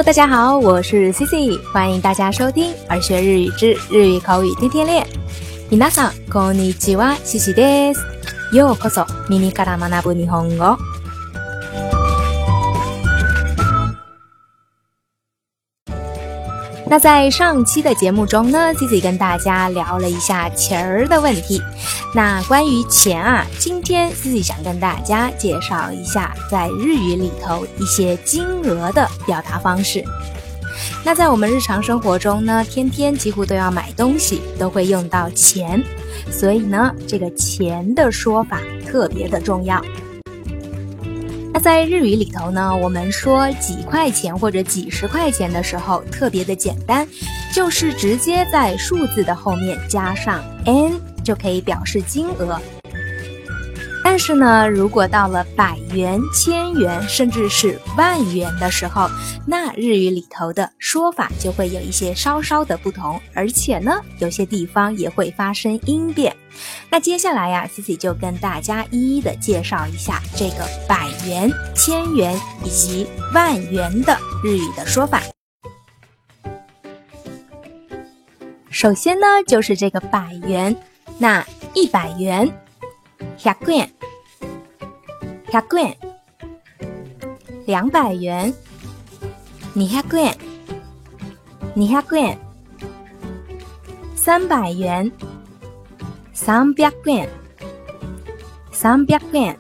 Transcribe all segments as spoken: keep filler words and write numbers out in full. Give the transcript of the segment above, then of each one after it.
大家好，我是 C C， 欢迎大家收听儿学日语之日语口语天天练。皆さんこんにちは、C Cです。ようこそ耳から学ぶ日本語。那在上期的节目中呢 ，C C 跟大家聊了一下钱儿的问题。那关于钱啊，今天 C C 想跟大家介绍一下在日语里头一些金额的表达方式。那在我们日常生活中呢，天天几乎都要买东西，都会用到钱，所以呢，这个钱的说法特别的重要。那在日语里头呢，我们说几块钱或者几十块钱的时候特别的简单，就是直接在数字的后面加上 n 就可以表示金额。但是呢，如果到了百元、千元甚至是万元的时候，那日语里头的说法就会有一些稍稍的不同，而且呢，有些地方也会发生音变。那接下来呀 ，C C 就跟大家一一的介绍一下这个百元、千元以及万元的日语的说法。首先呢，就是这个百元，那一百元。百円百円两百元二百円二百円三百元三百円三百円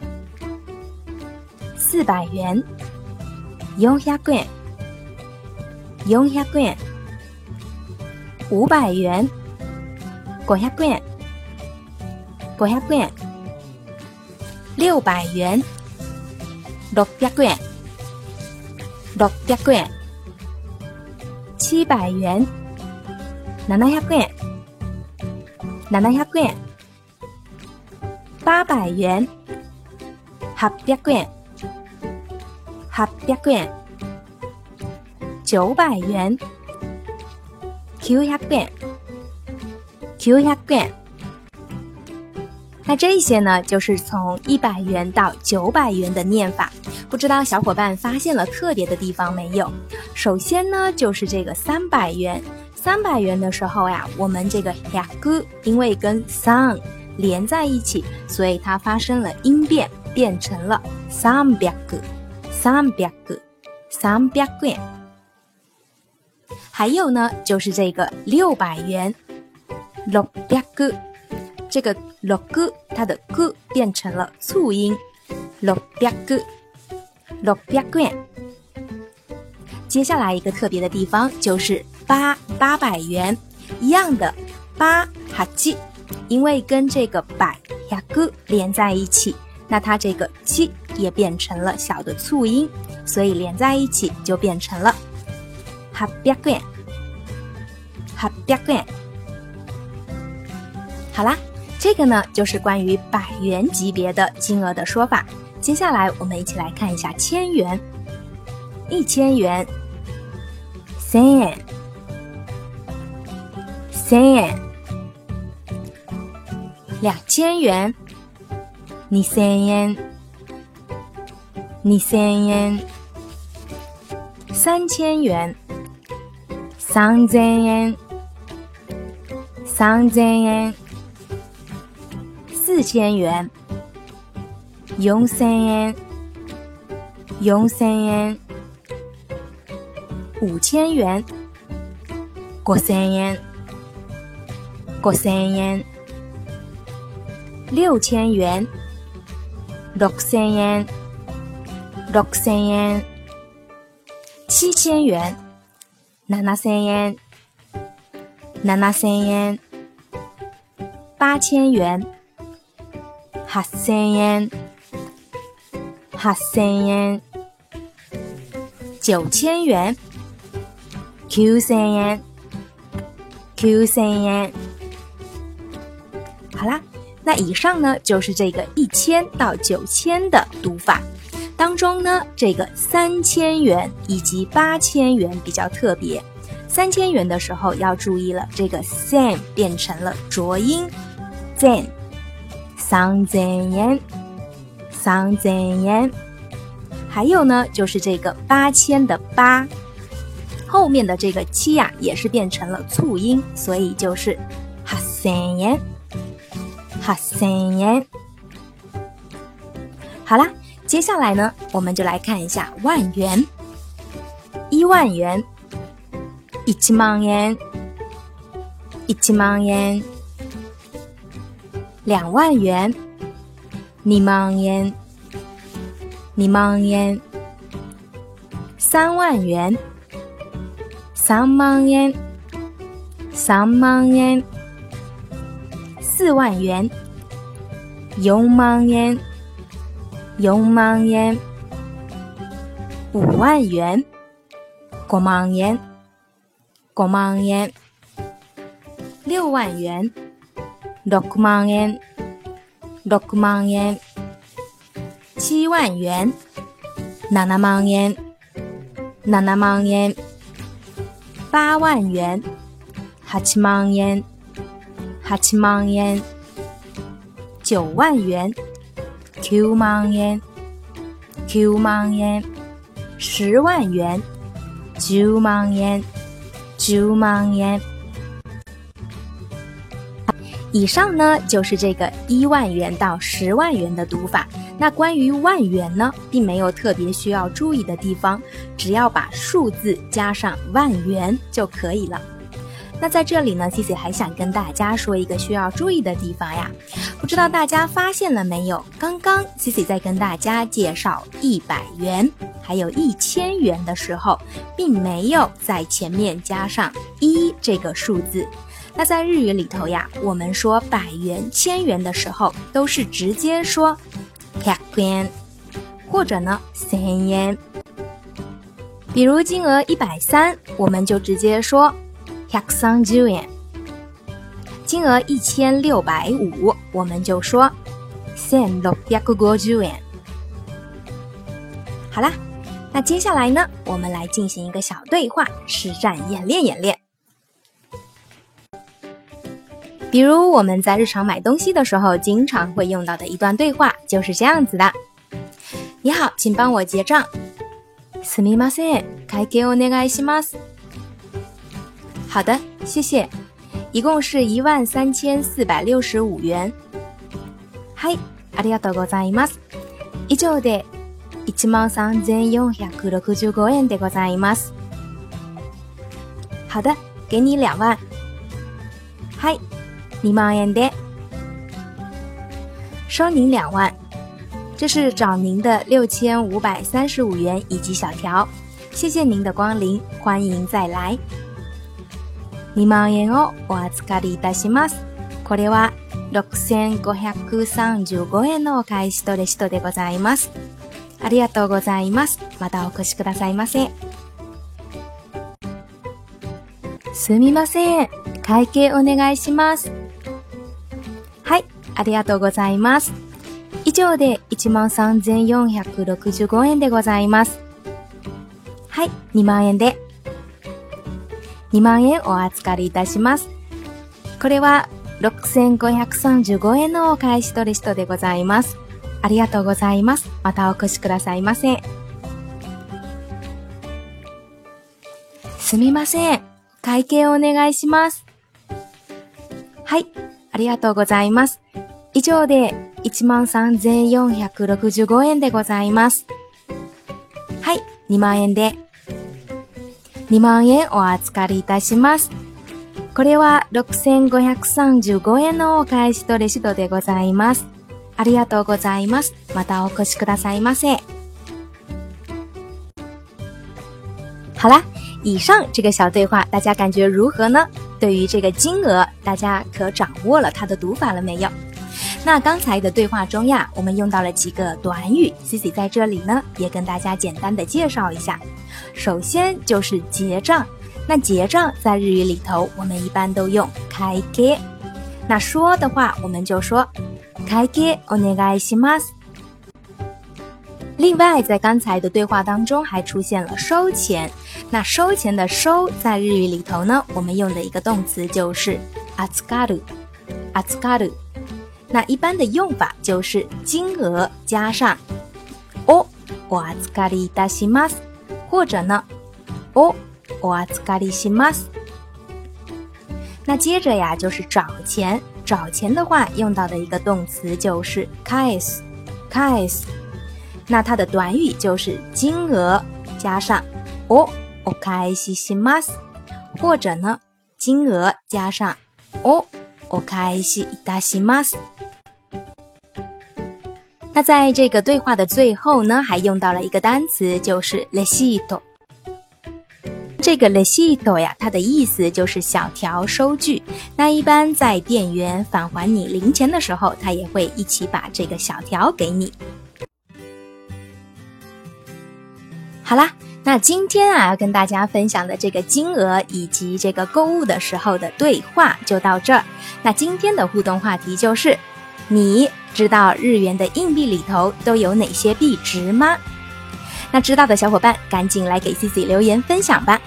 四百元四百円四百円五百元五百円五百円六百元六百円六百円七百元七百円七百円八百元八百円八百円九百元九百円九百円。那这些呢，就是从一百元到九百元的念法，不知道小伙伴发现了特别的地方没有？首先呢，就是这个三百元，三百元的时候呀，我们这个百因为跟三连在一起，所以它发生了音变，变成了三百三百三百円。还有呢，就是这个六百元，六百这个六它的 g 变成了促音，六百六百円。接下来一个特别的地方就是八八百元，一样的八八，因為跟这个百百连在一起，那它这个七也变成了小的促音，所以连在一起就变成了八百円八百円。好啦。这个呢，就是关于百元级别的金额的说法。接下来我们一起来看一下千元。一千元千円千円两千元二千円二千円三千元三千円三千円四千元四千円四千円五千元五千円五千円六千元六千円六千円七千元七千円七千円八千元八千円八千円九千元九千円九千円。好啦，那以上呢就是这个一千到九千的读法。当中呢，这个三千元以及八千元比较特别。三千元的时候要注意了，这个 sen 变成了浊音 zen。三千円三千円。还有呢，就是这个八千的八后面的这个七呀、啊、也是变成了促音，所以就是八千円八千円。好啦，接下来呢我们就来看一下万元。一万元一万円一万円。两万元二万円二万円。三万元三万円三万円。四万元四万円四万円。五万元五万円五万円。六万元六万円六万円。七万元七万円七万円。八万元八万円八万円。九万元九万円九万円。十万元十万円十万円。以上呢就是这个一万元到十万元的读法。那关于万元呢，并没有特别需要注意的地方，只要把数字加上万元就可以了。那在这里呢 Cici 还想跟大家说一个需要注意的地方呀，不知道大家发现了没有，刚刚 Cici 在跟大家介绍一百元还有一千元的时候，并没有在前面加上一这个数字。那在日语里头呀，我们说百元千元的时候都是直接说百円或者呢千円。比如金额一百三，我们就直接说百三十円。金额一千六百五，我们就说千六百五十円。好啦，那接下来呢，我们来进行一个小对话，实战演练演练。比如我们在日常买东西的时候经常会用到的一段对话就是这样子的。你好，请帮我结账。すみません、会計お願いします。好的，谢谢。一共是一万三千四百六十五元。はい、ありがとうございます。以上で一万三千四百六十五円でございます。好的，给你两万。はい、二万円で。收您两万。这是找您的六千五百三十五元以及小条，谢谢您的光临，欢迎再来。二万円をお預かりいたします。これは六千五百三十五円のお返しとレシートでございます。ありがとうございます。またお越しくださいませ。すみません、会計お願いします。はい、ありがとうございます。以上で一万三千四百六十五円でございます。はい、二万円で。二万円お預かりいたします。これは六千五百三十五円のお返しとレシートでございます。ありがとうございます。またお越しくださいませ。すみません、会計をお願いします。はい、ありがとうございます。以上で一万三千四百六十五円でございます。はい、二万円で。二万円お預かりいたします。これは六千五百三十五円のお返しとレシートでございます。ありがとうございます。またお越しくださいませ。好啦，以上这个小对话大家感觉如何呢？对于这个金额，大家可掌握了它的读法了没有？那刚才的对话中呀，我们用到了几个短语 Cici 在这里呢也跟大家简单的介绍一下。首先就是结账，那结账在日语里头我们一般都用会計，那说的话我们就说会計お願いします。另外在刚才的对话当中还出现了收钱，那收钱的收在日语里头呢我们用的一个动词就是預かる預かる。那一般的用法就是金额加上おお預かりいたします，或者呢おお預かりします。那接着呀就是找钱，找钱的话用到的一个动词就是返す，返す。那它的短语就是金额加上おお返しします，或者呢金额加上おお返しいたします。那在这个对话的最后呢，还用到了一个单词，就是レシート。这个レシート呀，它的意思就是小条收据。那一般在店员返还你零钱的时候，他也会一起把这个小条给你。好啦，那今天啊要跟大家分享的这个金额以及这个购物的时候的对话就到这儿。那今天的互动话题就是，你知道日元的硬币里头都有哪些币值吗？那知道的小伙伴赶紧来给 Cici 留言分享吧。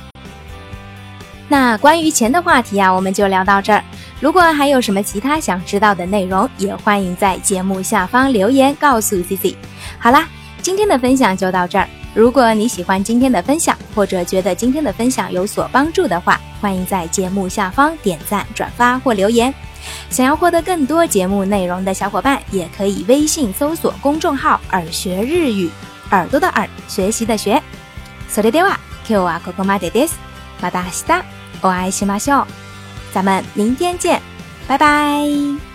那关于钱的话题啊，我们就聊到这儿。如果还有什么其他想知道的内容，也欢迎在节目下方留言告诉 Cici。好啦，今天的分享就到这儿。如果你喜欢今天的分享，或者觉得今天的分享有所帮助的话，欢迎在节目下方点赞、转发或留言。想要获得更多节目内容的小伙伴，也可以微信搜索公众号耳学日语，耳朵的耳，学习的学。それでは今日はここまでです。また明日お会いしましょう。咱们明天见，拜拜。